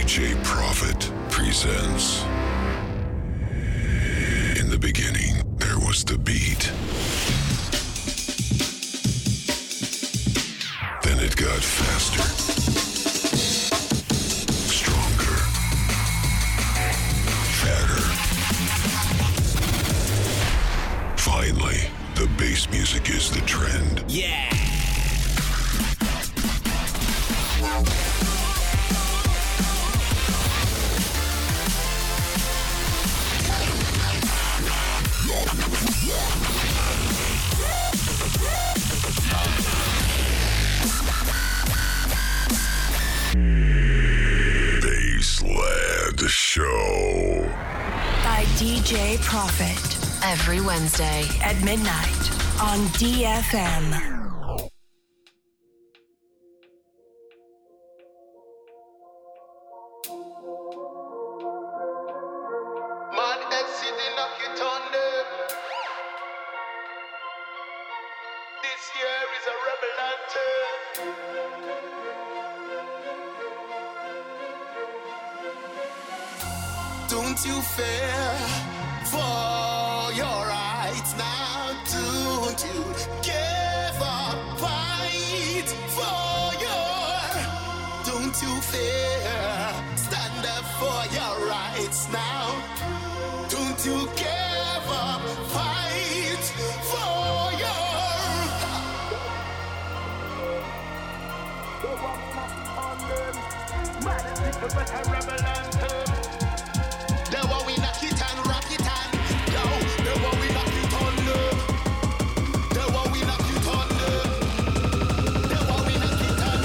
DJ Prophet presents. In the beginning, there was the beat. Then it got faster, stronger, fatter. Finally, the bass music is the trend. Yeah! Bassland Show by DJ Prophet every Wednesday at midnight on DFM. Don't you fear for your rights now? Don't you give up, fight for your. Don't you fear, stand up for your rights now. Don't you give up, fight for your. The one we knock it and rock it and yo, the one we knock it on the one we knock it on the one we knock it on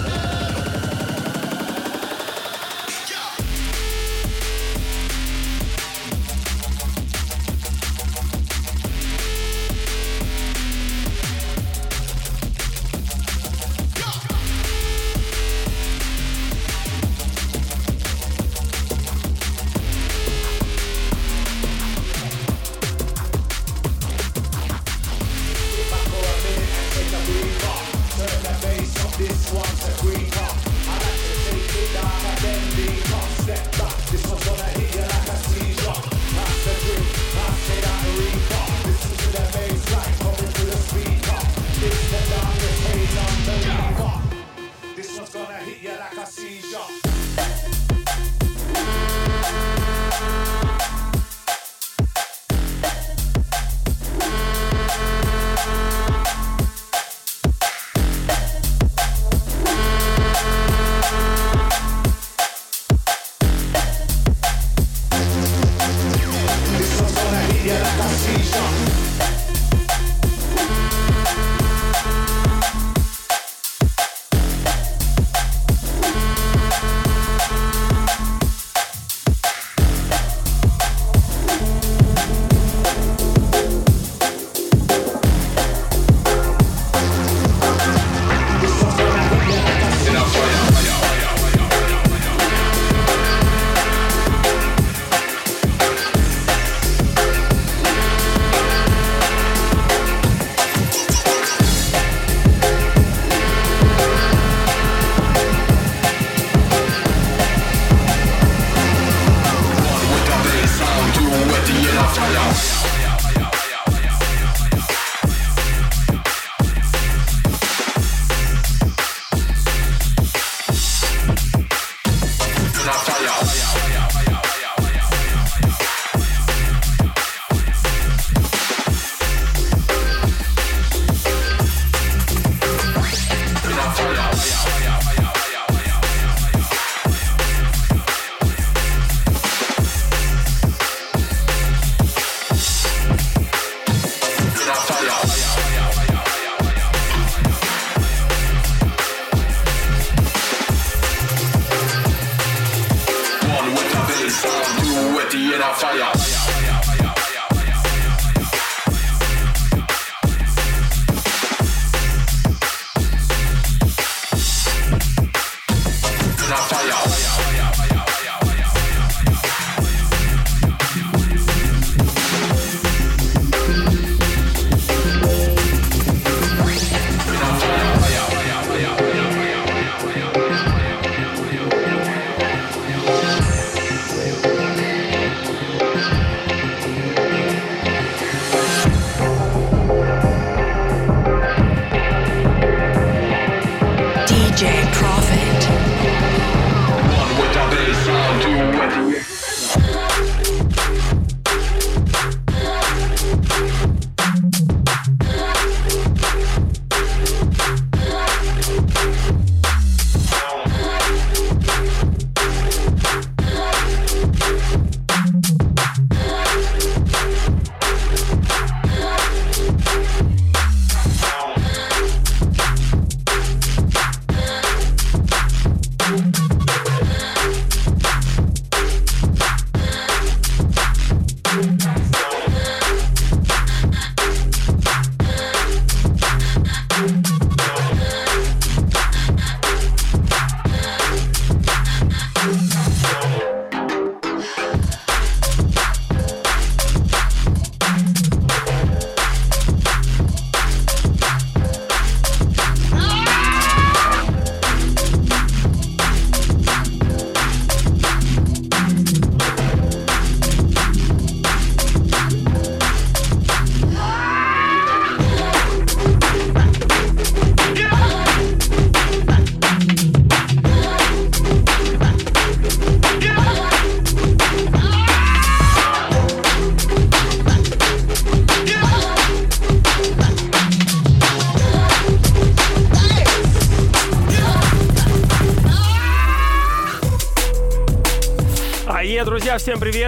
Друзья, всем привет!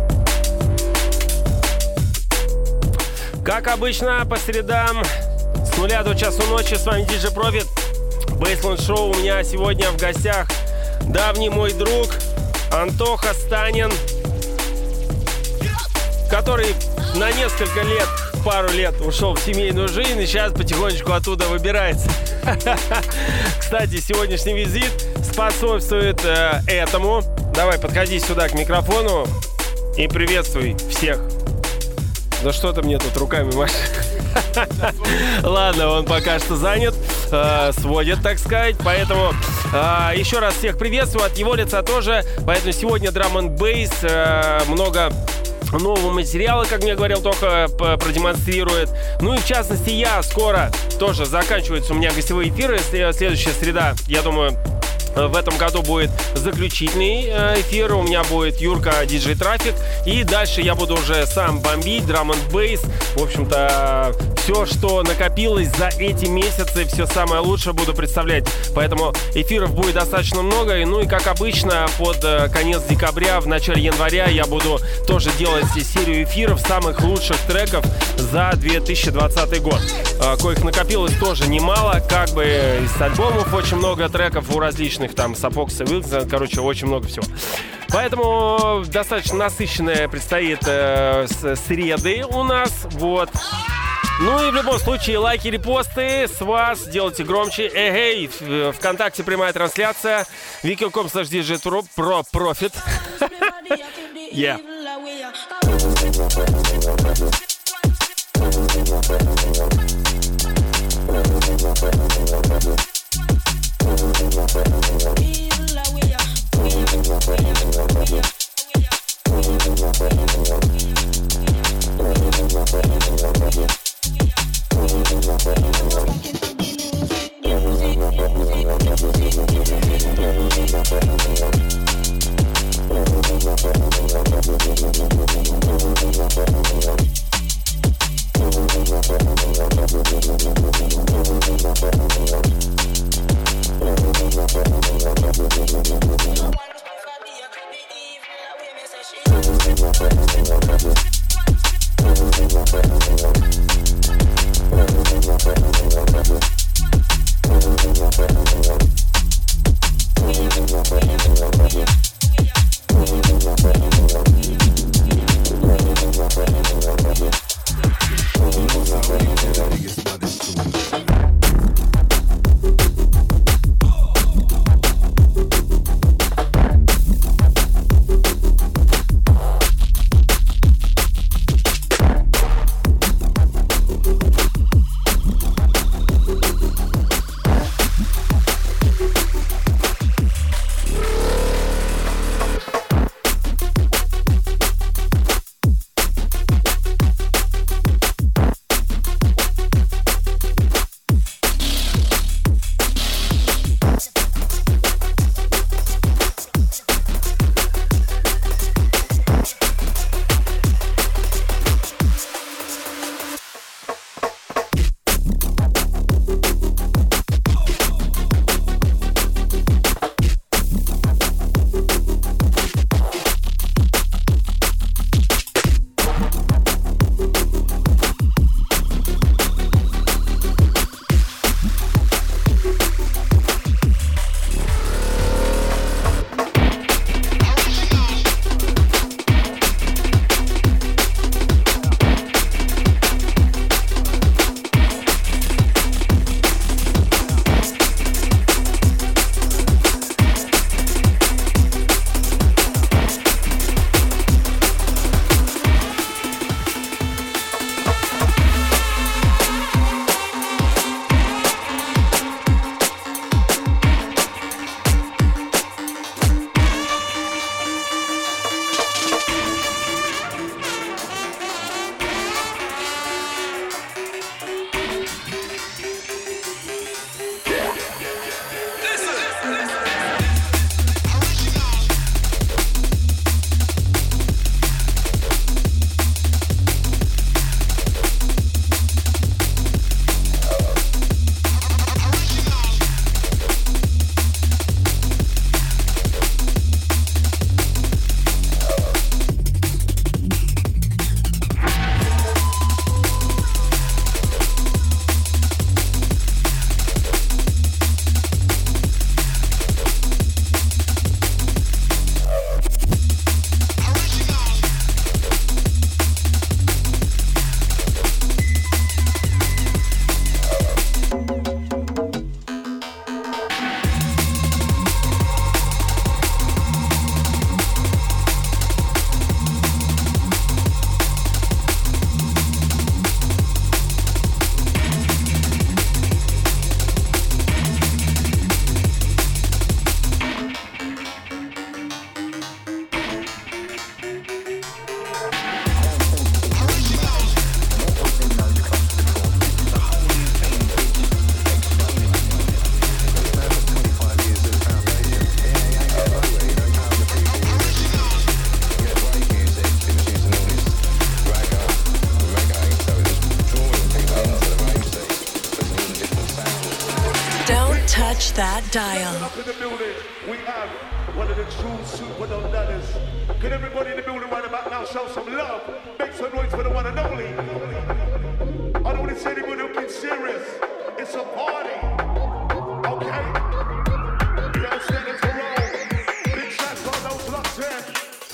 Как обычно, по средам с 0 до часу ночи с вами DJ Profit. Baseline Show. У меня сегодня в гостях давний мой друг Антоха Станин, который на несколько лет, пару лет ушел в семейную жизнь и сейчас потихонечку оттуда выбирается. Кстати, сегодняшний визит способствует этому. Давай, подходи сюда к микрофону и приветствуй всех. Да что ты мне тут руками машешь? Ладно, он пока что занят, сводит, так сказать. Поэтому еще раз всех приветствую от его лица тоже. Поэтому сегодня Drum and Bass, много нового материала, как мне говорил Тоха, продемонстрирует. Ну и в частности я скоро тоже заканчиваются у меня гостевые эфиры. Следующая среда, я думаю, в этом году будет заключительный эфир. У меня будет Юрка, диджей Трафик. И дальше я буду уже сам бомбить, Drum and Bass. В общем-то, все, что накопилось за эти месяцы, все самое лучшее буду представлять. Поэтому эфиров будет достаточно много. Ну и как обычно, под конец декабря, в начале января я буду тоже делать серию эфиров самых лучших треков за 2020 год. Коих накопилось тоже немало. Как бы из альбомов очень много треков у различных там Сапокс и Вилкс, короче, очень много всего. Поэтому достаточно насыщенная предстоит среды у нас, вот. Ну и в любом случае лайки, репосты с вас, делайте громче. Эй, ВКонтакте прямая трансляция, wiki.com/DJ-Profit. Yeah. that dial. Up in the building, we have one of the true super dollars. Can everybody in the building right about now show some love? Make some noise for the one and only. I don't want to say anybody looking serious. It's a party. Okay? You understand? It's a roll. Big shots on those locked in.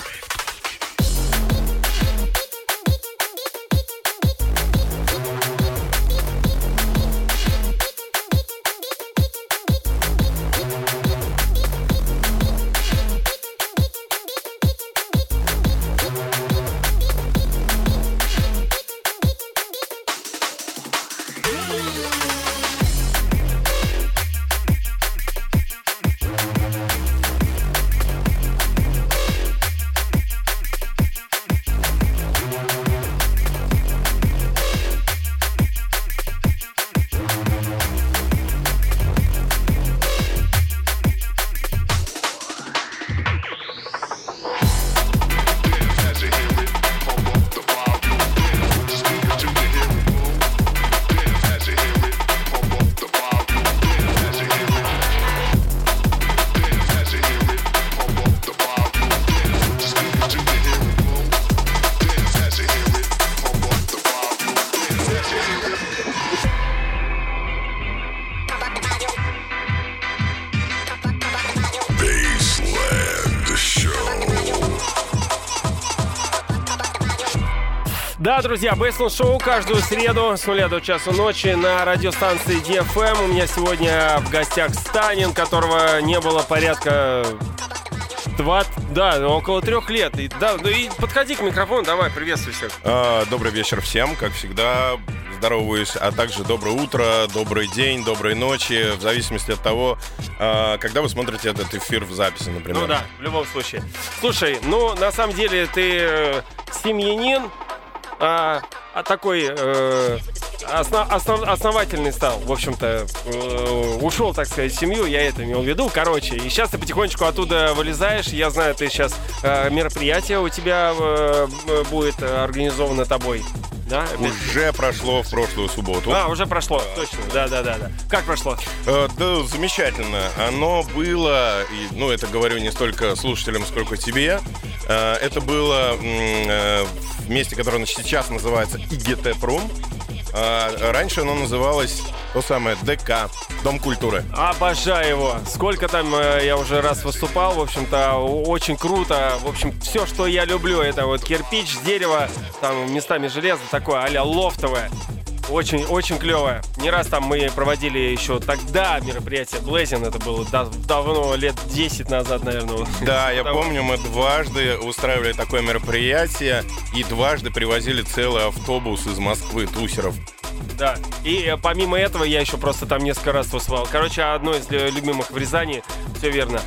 Да, друзья, Бейсленд Шоу каждую среду с 0 до часу ночи на радиостанции DFM. У меня сегодня в гостях Станин, которого не было порядка около 3 лет. И подходи к микрофону, давай, приветствуй всех. Добрый вечер всем, как всегда. Здороваюсь, а также доброе утро, добрый день, доброй ночи, в зависимости от того, когда вы смотрите этот эфир в записи, например. Ну да, в любом случае. Слушай, на самом деле ты семьянин, такой основательный стал, в общем-то, ушел, так сказать, в семью, я это имел в виду, короче, и сейчас ты потихонечку оттуда вылезаешь, я знаю, ты сейчас мероприятие у тебя будет организовано тобой. Да? Уже прошло в прошлую субботу. Уже прошло, точно, да. Как прошло? Да, замечательно. Оно было, это говорю не столько слушателям, сколько тебе. Это было в месте, которое сейчас называется ИГТ-Пром. Раньше оно называлось то самое ДК, Дом культуры. Обожаю его. Сколько там я уже раз выступал, в общем-то, очень круто. В общем, все, что я люблю, это вот кирпич, дерево, там местами железо, такое а-ля лофтовое. Очень, очень клевое. Не раз там мы проводили еще тогда мероприятие Blazing, это было давно, лет 10 назад, наверное. Да, я помню, мы дважды устраивали такое мероприятие и дважды привозили целый автобус из Москвы тусеров. Да, и помимо этого я еще просто там несколько раз выступал. Короче, одно из любимых в Рязани, все верно.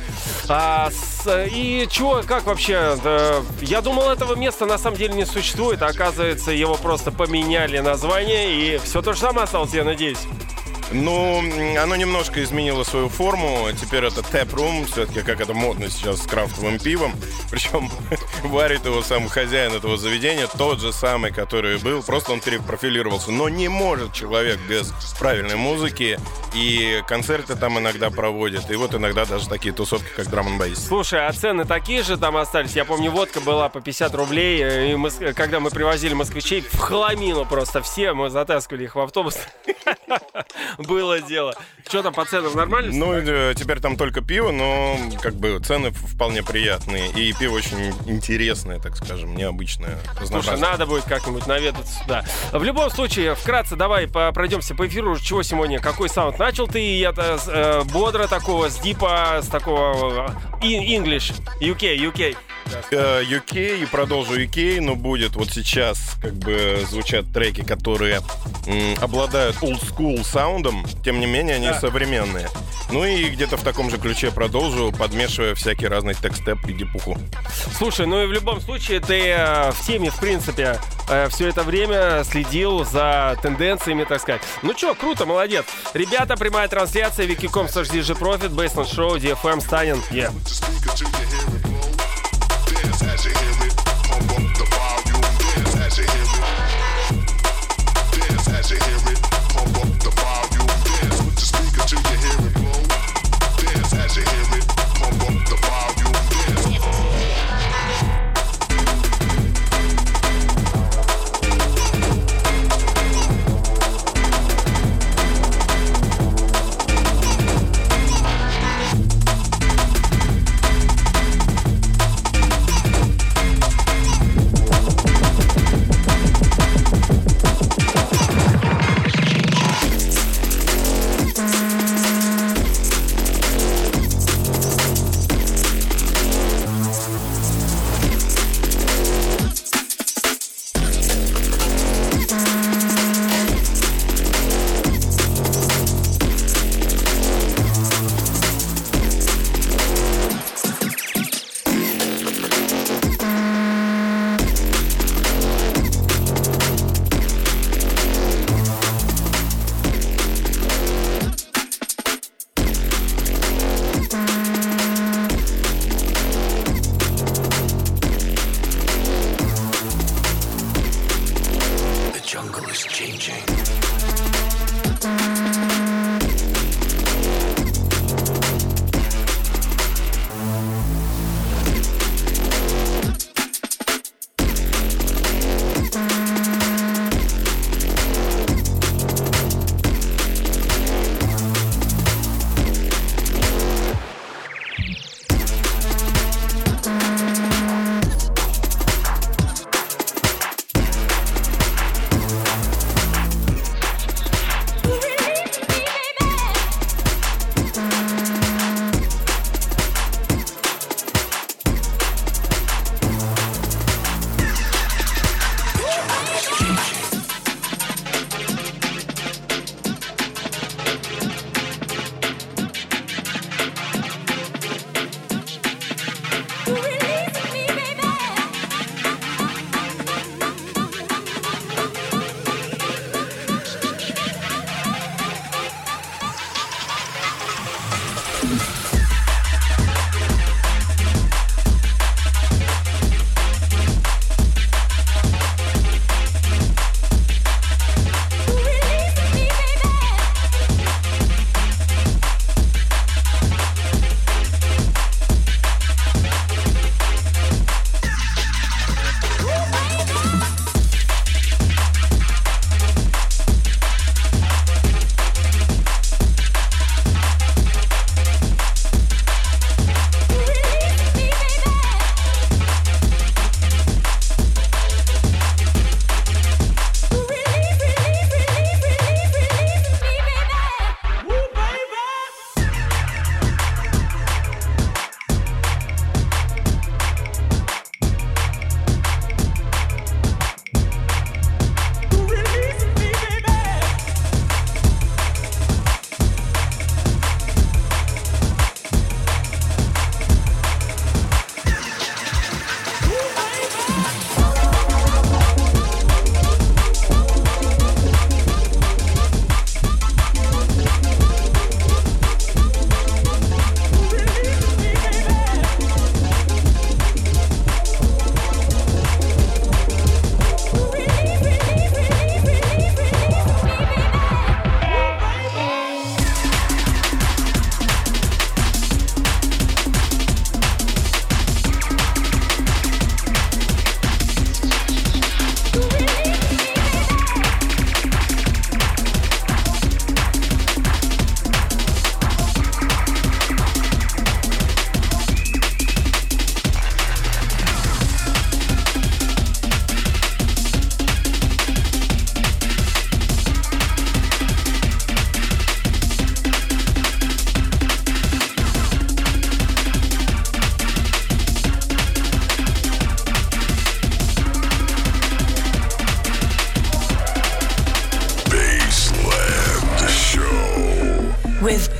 И чего, как вообще? Я думал, этого места на самом деле не существует, а оказывается, его просто поменяли название, и все то же самое осталось, я надеюсь. Оно немножко изменило свою форму. Теперь это тэп-рум, все-таки как это модно сейчас с крафтовым пивом. Причем варит его сам хозяин этого заведения, тот же самый, который был. Просто он перепрофилировался. Но не может человек без правильной музыки. И концерты там иногда проводят. И вот иногда даже такие тусовки, как драм-н-бейс. Слушай, а цены такие же там остались? Я помню, водка была по 50 рублей. И когда мы привозили москвичей в хламину просто все, мы затаскивали их в автобус. Было дело. Что там по ценам, нормально? Теперь там только пиво, но цены вполне приятные. И пиво очень интересное, так скажем, необычное. Слушай, надо будет как-нибудь наведаться сюда. В любом случае, вкратце давай пройдемся по эфиру. Чего сегодня? Какой саунд? Начал ты я бодро такого, с дипа, с такого English, UK. UK и продолжу UK, но будет вот сейчас звучат треки, которые обладают олдскул саундом, тем не менее они современные. И где-то в таком же ключе продолжу, подмешивая всякий разный текстеп и дипуху. Слушай, и в любом случае ты в теме, в принципе, все это время следил за тенденциями, так сказать. Круто, молодец. Ребята, прямая трансляция, wiki.com/DJ Profit, Бейсленд Шоу, DFM, Станин. As you hear it, pump up the volume. Dance as you hear it. Dance as you hear it, pump up the volume. Dance with the speaker till you hear it blow.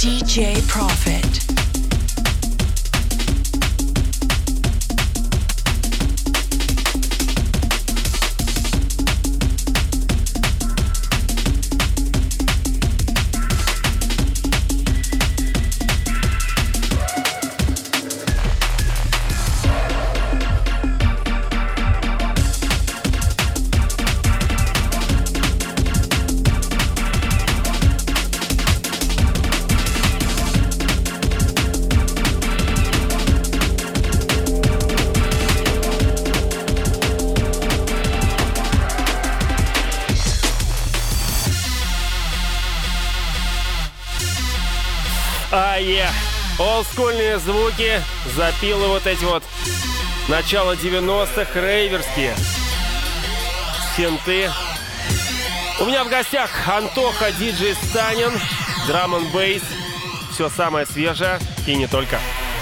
DJ Profit. Олдскульные звуки, запилы вот эти вот. Начало 90-х, рейверские. Синты. У меня в гостях Антоха, диджей Станин, драм н бейс. Все самое свежее и не только.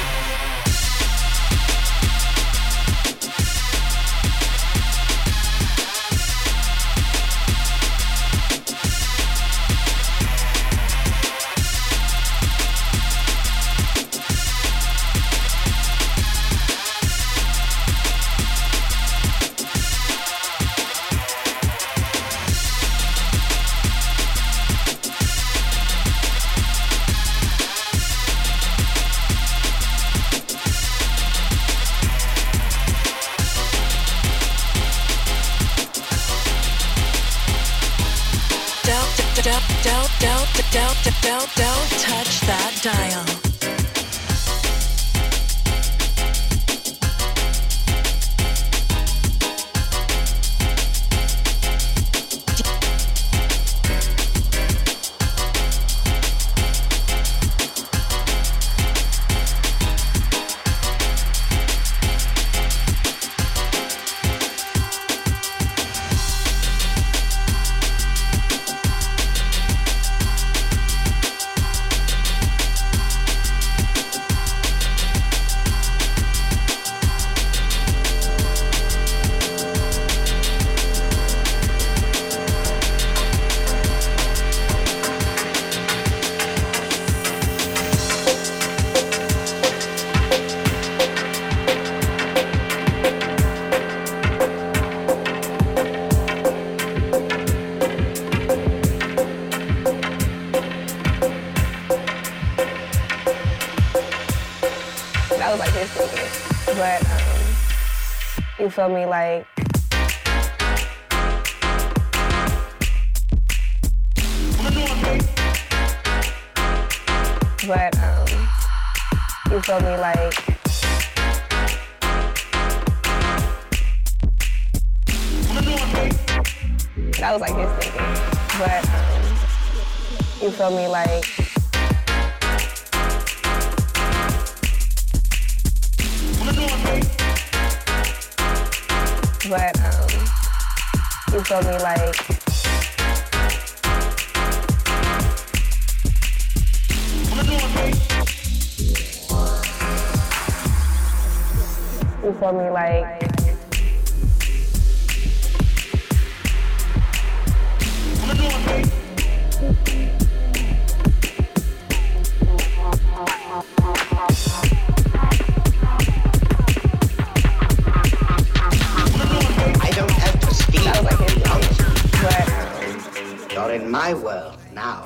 Don't touch that dial. But you feel me, like but you feel me, like that was like his thinking. But you feel me, like but you feel me, like you feel me, like You're in my world now.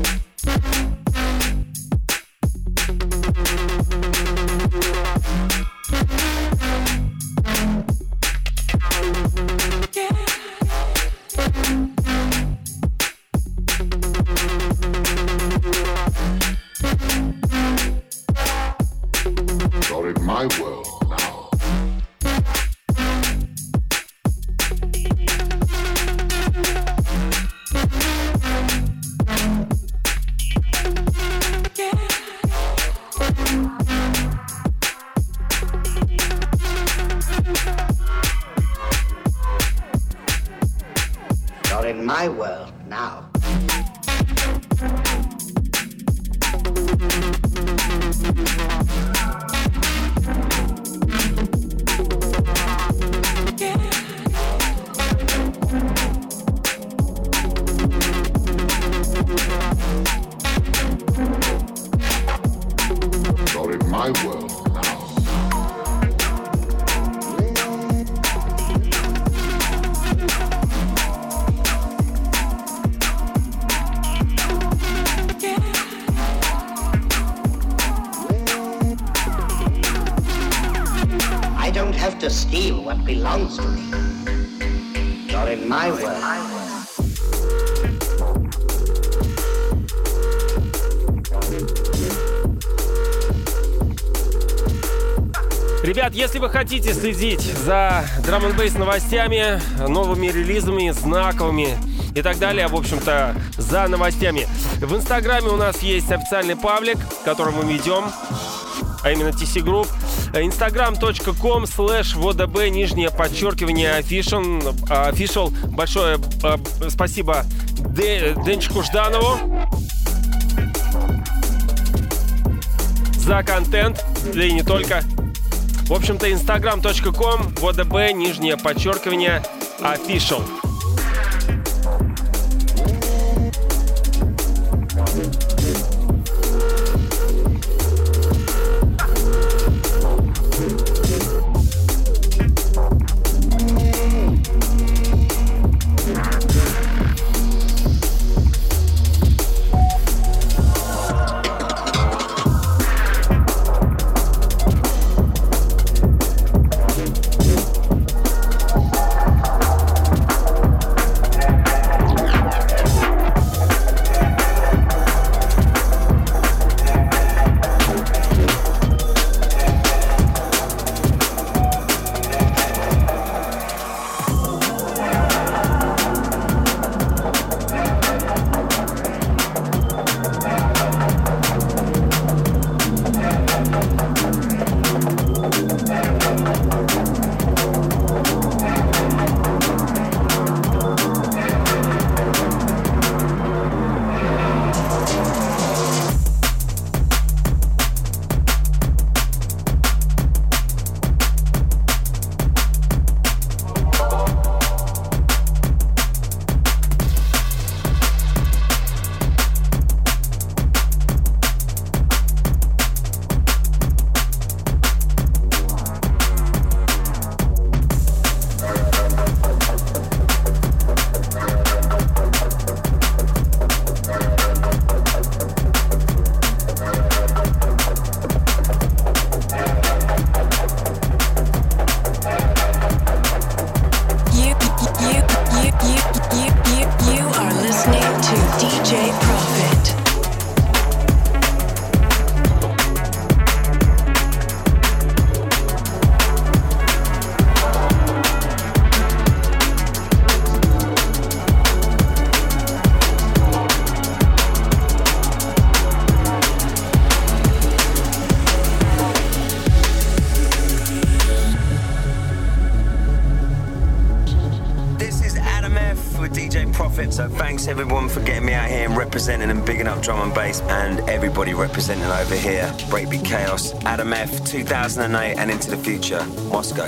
You're in my world now. You're in my world now. don't have to steal what belongs to me. You're in my world. Ребят, если вы хотите следить за драм-н-бейс новостями, новыми релизами, знаковыми и так далее, в общем-то, за новостями, в Инстаграме у нас есть официальный паблик, который мы ведем, а именно TC Group. instagram.com/vodb_official. Большое спасибо Денчику Жданову за контент, да и не только. В общем-то, instagram.com/vodb_official. So thanks everyone for getting me out here and representing and bigging up drum and bass, and everybody representing over here. Breakbeat Chaos, Adam F, 2008 and into the future, Moscow.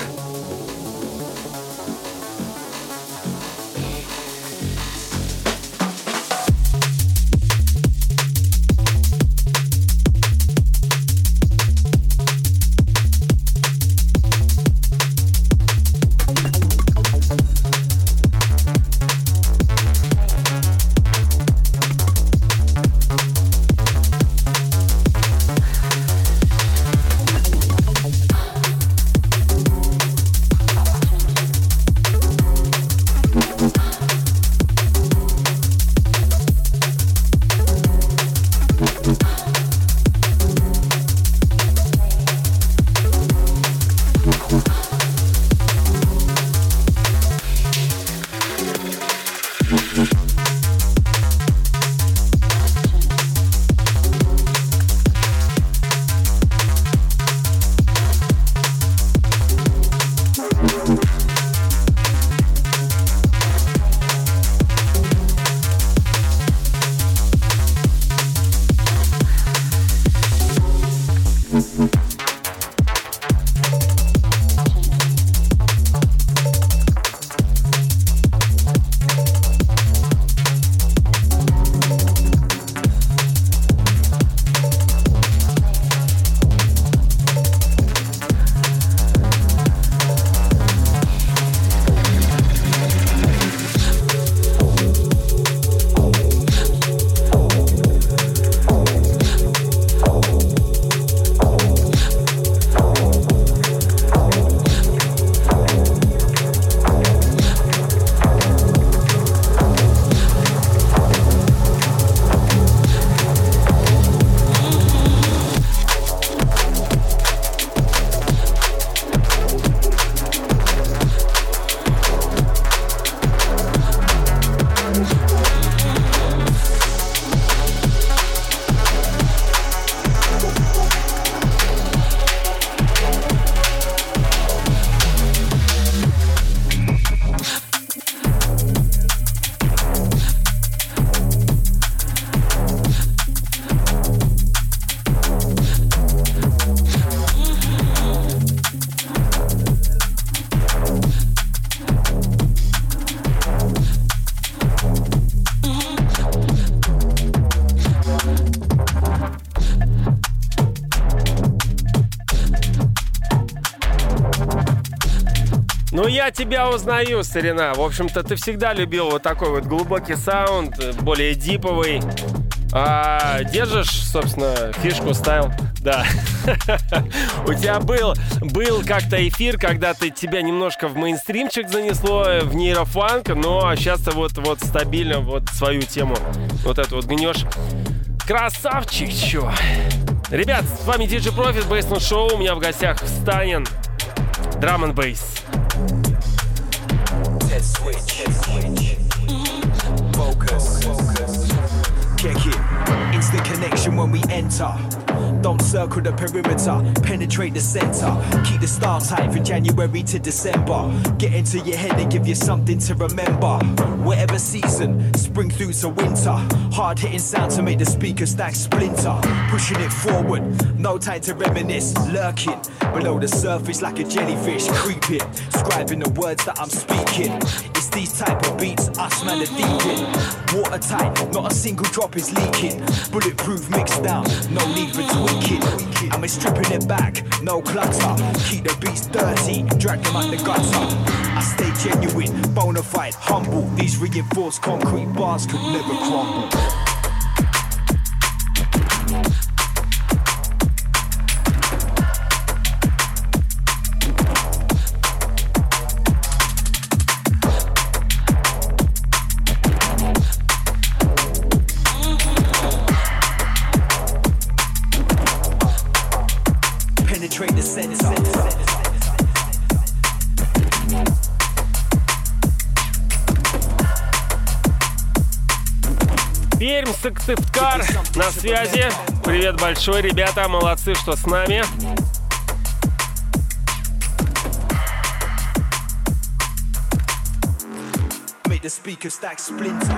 Ну, я тебя узнаю, старина. В общем-то, ты всегда любил вот такой вот глубокий саунд, более диповый. Держишь, собственно, фишку, стайл? Да. У тебя был как-то эфир, когда тебя немножко в мейнстримчик занесло, в нейрофанк, но сейчас ты вот стабильно вот свою тему вот эту вот гнешь. Красавчик, чё? Ребят, с вами DJ Profit, Bassnote Show. У меня в гостях Станин, Drum and Bass. Check it. Instant connection when we enter. Don't circle the perimeter, penetrate the center. Keep the style tight from January to December. Get into your head and give you something to remember. Whatever season, spring through to winter. Hard hitting sound to make the speaker stack splinter. Pushing it forward, no time to reminisce. Lurking below the surface like a jellyfish. Creeping, scribing the words that I'm speaking. It's these type of beats, us man are deep in. Watertight, not a single drop is leaking. Bulletproof mixed down, no need for tweaking. And we're stripping it back, no clutter. Keep the beats dirty, drag them out the gutter. I stay genuine, bona fide, humble. These reinforced concrete bars could never crumble. Пермь, Сыктывкар на связи. Привет большой, ребята, молодцы, что с нами. Make the speaker stack splinter.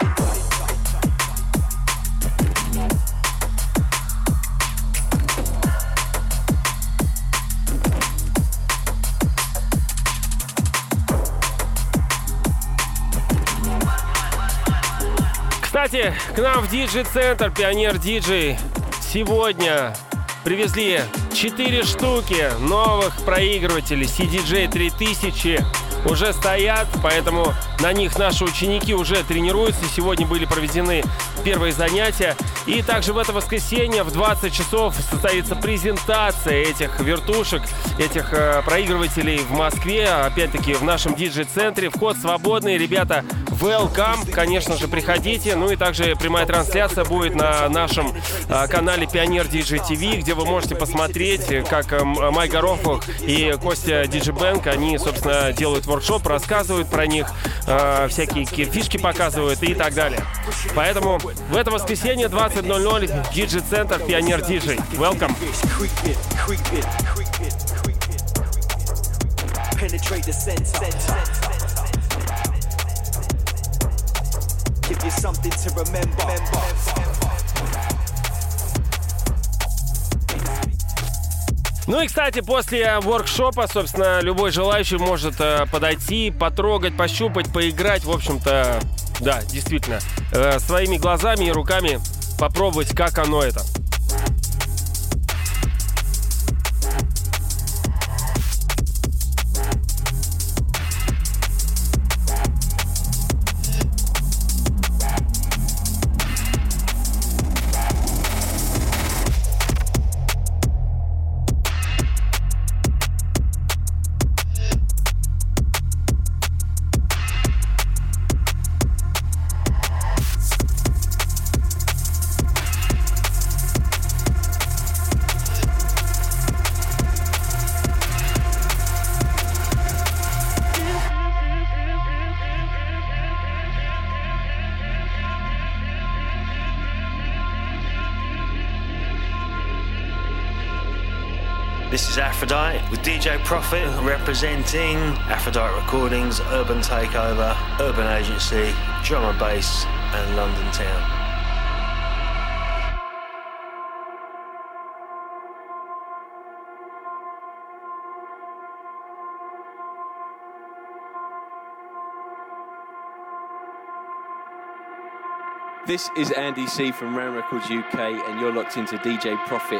Кстати, к нам в диджей-центр Пионер Диджей сегодня привезли 4 штуки новых проигрывателей CDJ 3000. Уже стоят, поэтому на них наши ученики уже тренируются. Сегодня были проведены первые занятия. И также в это воскресенье в 20 часов состоится презентация этих вертушек, этих проигрывателей в Москве. Опять-таки в нашем диджей-центре. Вход свободный. Ребята, welcome. Конечно же, приходите. Ну и также прямая трансляция будет на нашем канале Пионер Диджей ТВ, где вы можете посмотреть, как Майк Горохов и Костя Диджибэнк, они, собственно, делают воркшоп, рассказывают про них, всякие фишки показывают и так далее. Поэтому в это воскресенье 20:00 диджей-центр Пионер Диджей. Welcome. Give you something to remember. Ну и, кстати, после воркшопа, собственно, любой желающий может подойти, потрогать, пощупать, поиграть. В общем-то, да, действительно, своими глазами и руками попробовать, как оно это. This is Aphrodite with DJ Profit representing Aphrodite Recordings, Urban Takeover, Urban Agency, Drum and Bass and London Town. This is Andy C from Ram Records UK and you're locked into DJ Profit.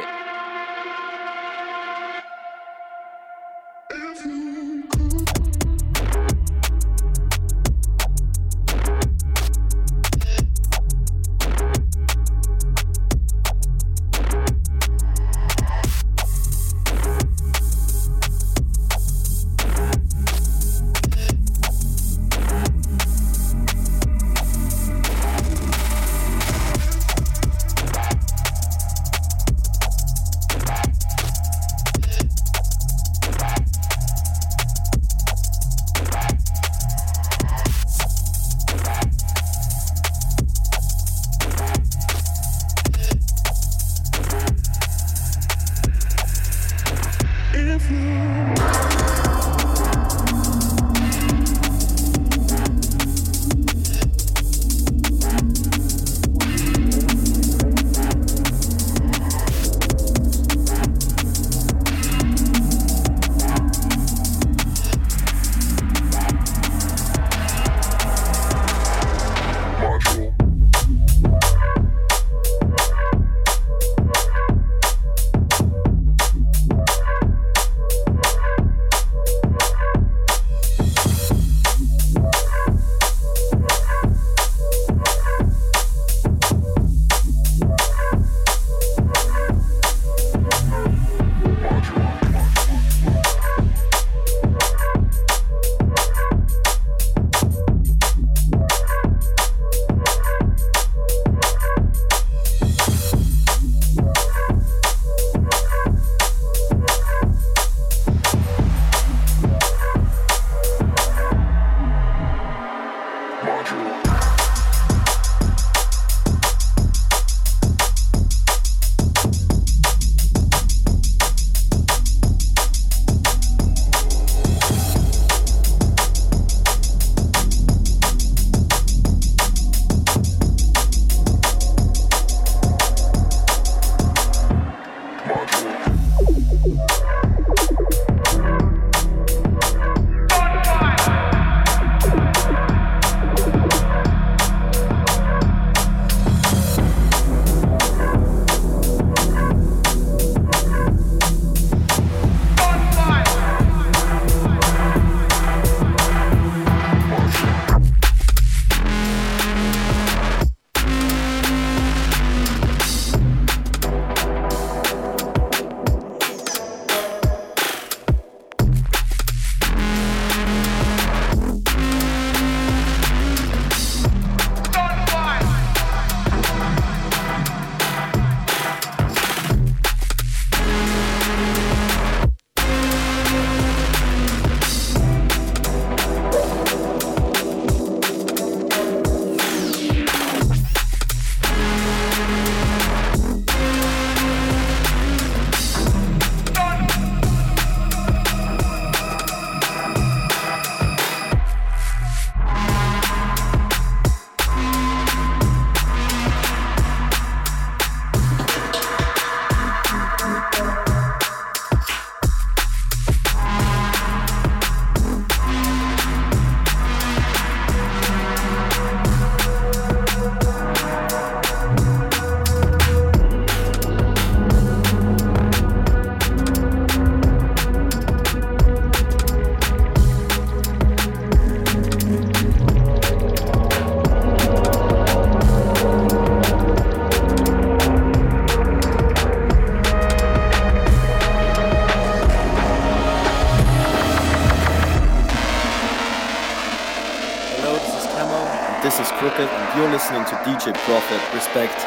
This is Crooked, and you're listening to DJ Prophet. Respect.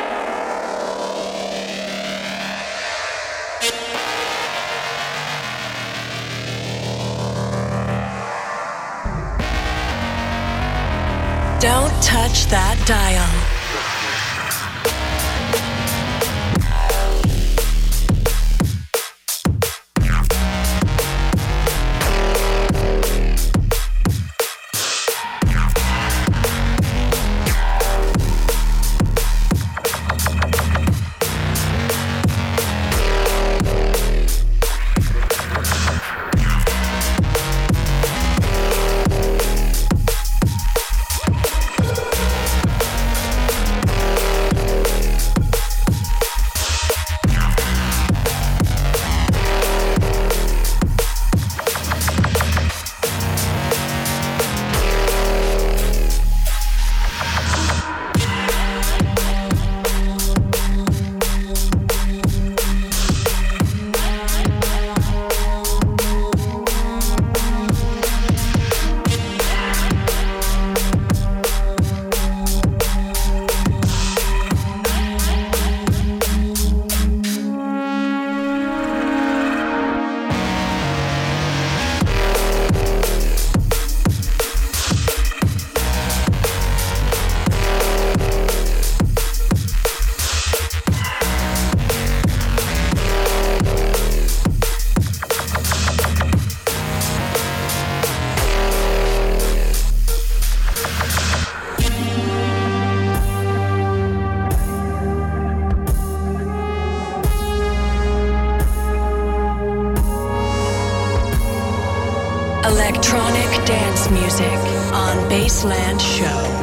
Don't touch that dial. Electronic dance music on Baseland Show.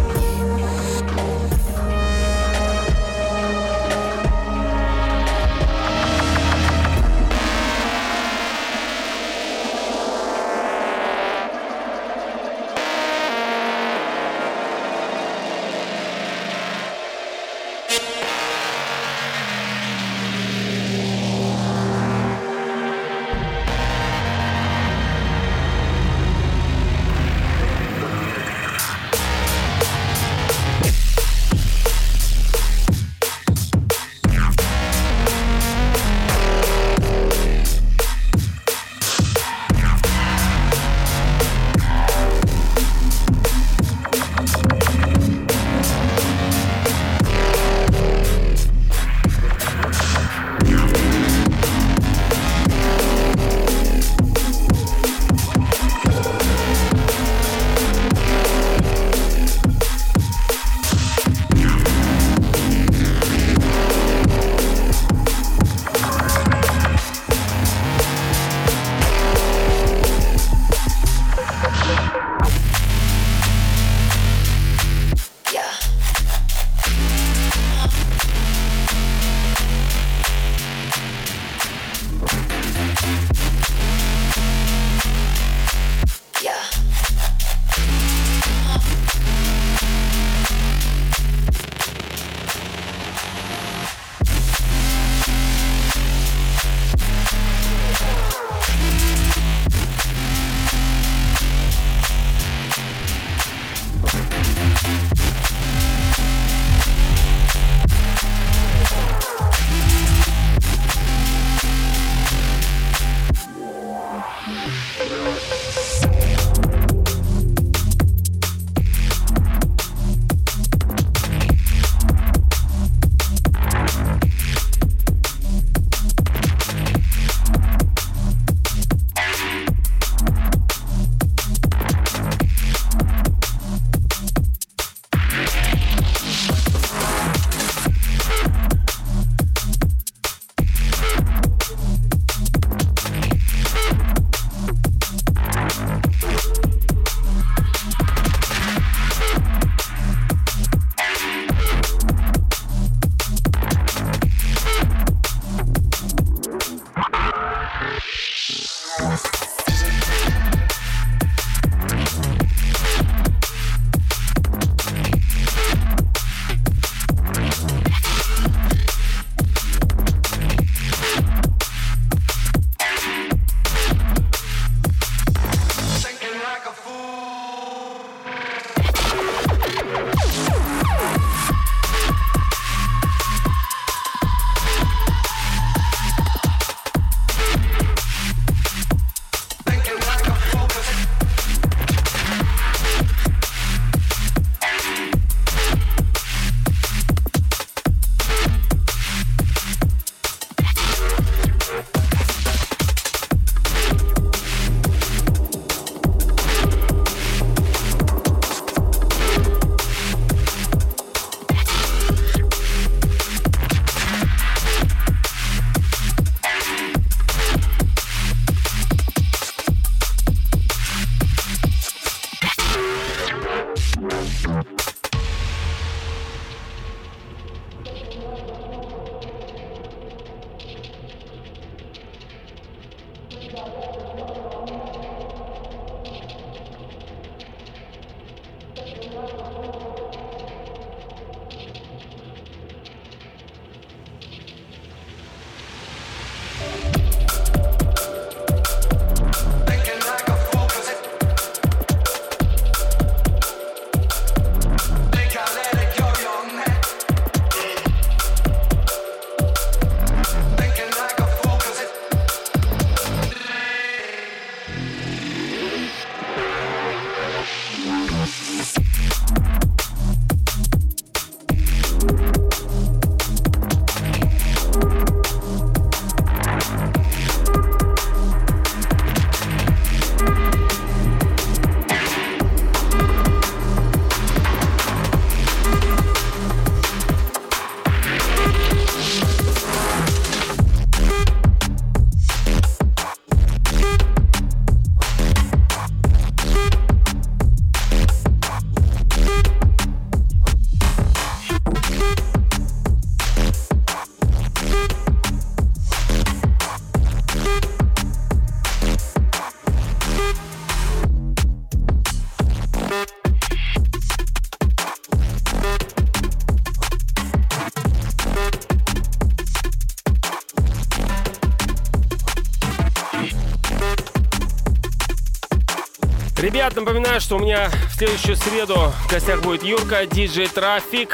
Ребят, напоминаю, что у меня в следующую среду в гостях будет Юрка, DJ Traffic.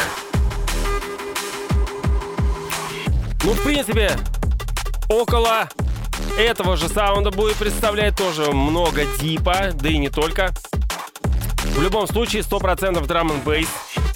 Ну, в принципе, около этого же саунда будет представлять тоже много дипа, да и не только. В любом случае, 100% драм н бейс.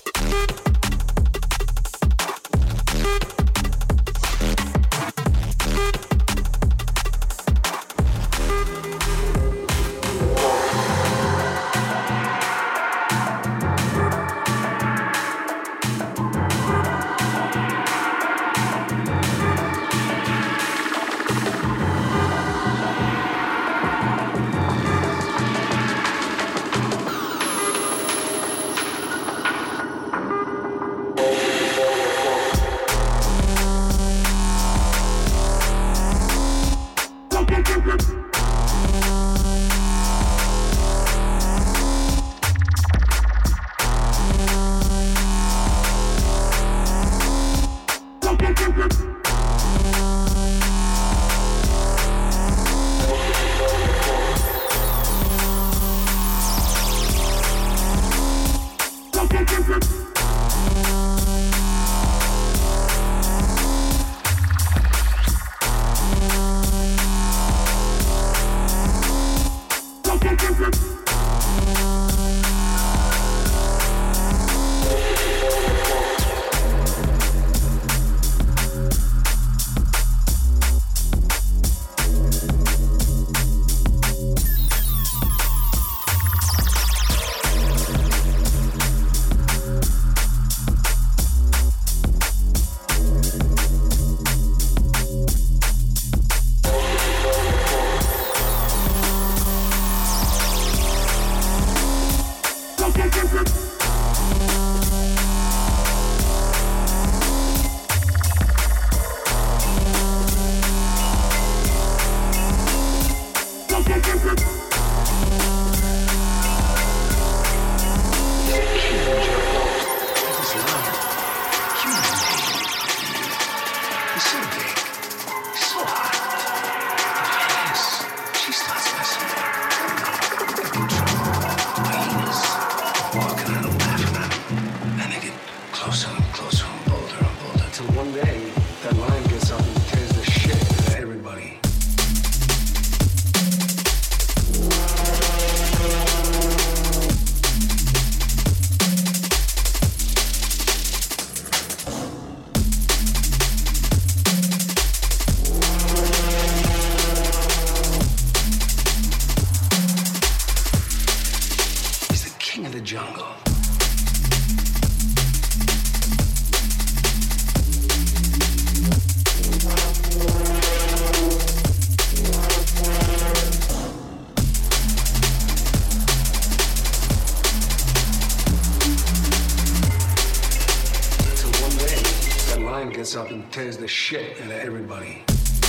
Up and tears the shit out of everybody.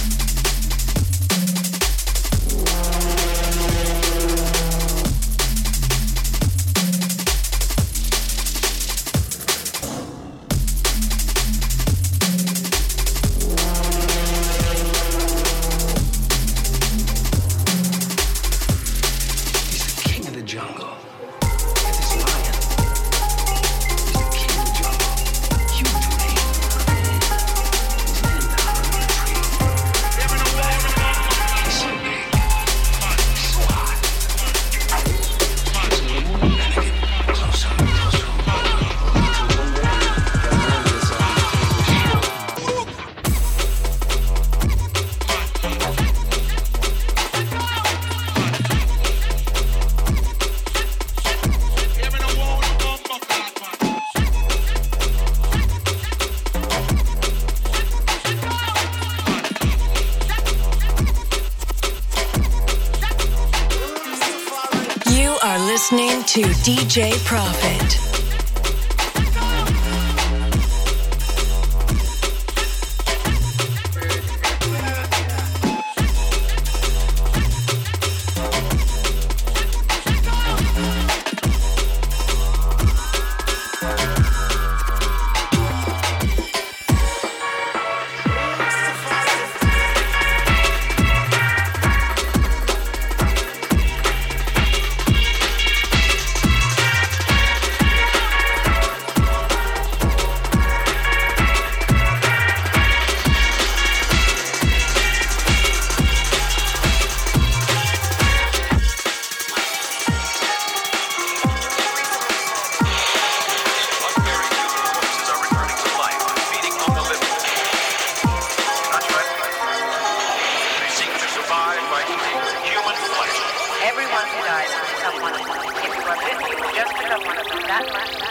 Listening to DJ Profit. guys pick up one of them. If you are busy, you just pick up one of them that much.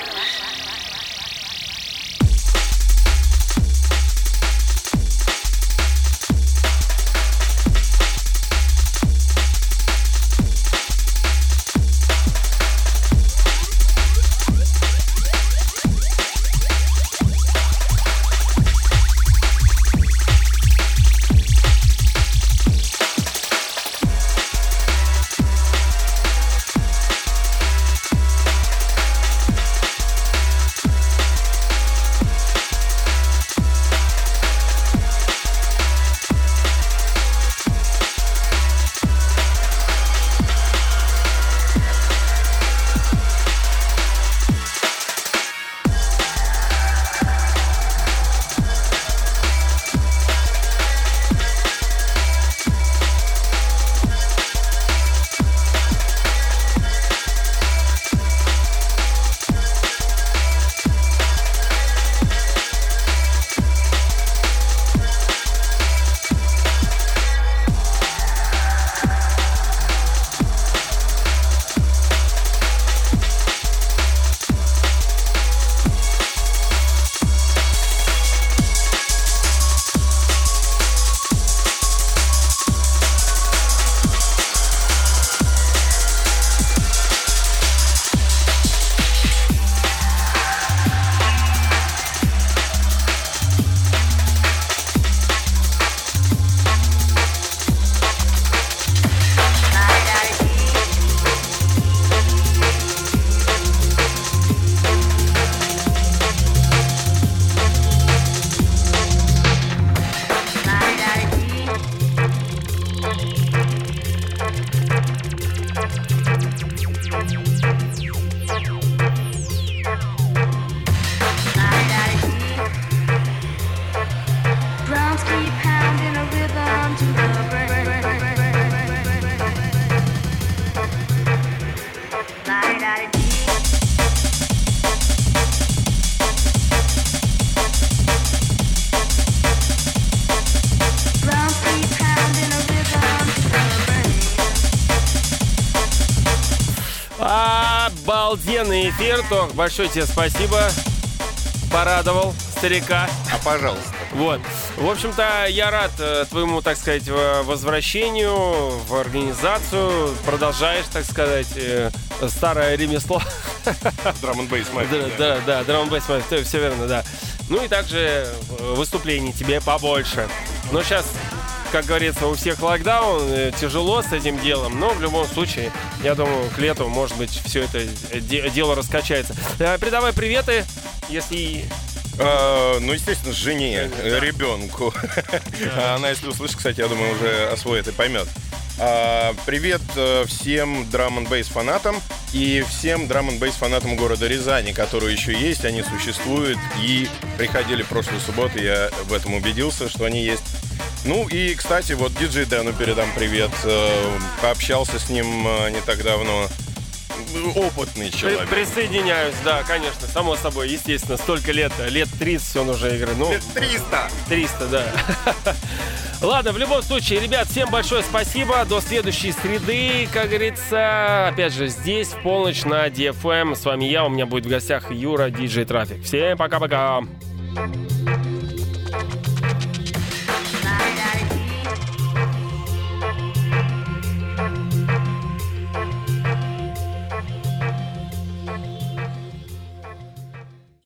Обалденный эфир, Тох, большое тебе спасибо. Порадовал старика. А пожалуйста. Вот. В общем-то, я рад твоему, так сказать, возвращению в организацию. Продолжаешь, так сказать, старое ремесло. Drum&Bass Mafia. Да, Drum&Bass Mafia, все верно, да. Ну и также выступлений тебе побольше. Но сейчас, как говорится, у всех локдаун, тяжело с этим делом, но в любом случае, я думаю, к лету, может быть, все это дело раскачается. Передавай приветы, если... Ну, естественно, жене, ребенку. Она, если услышит, кстати, я думаю, уже освоит и поймет. Привет всем Drum&Bass фанатам и всем Drum&Bass фанатам города Рязани, которые еще есть, они существуют и приходили в прошлую субботу, я в этом убедился, что они есть. Ну и, кстати, вот диджей Дэну передам привет, пообщался с ним не так давно. Опытный человек. Присоединяюсь, да, конечно, само собой, естественно, столько лет 30 он уже играет. Ну, лет 300! 300, да. Ладно, в любом случае, ребят, всем большое спасибо. До следующей среды, как говорится. Опять же, здесь в полночь на DFM. С вами я, у меня будет в гостях Юра, диджей Трафик. Всем пока-пока.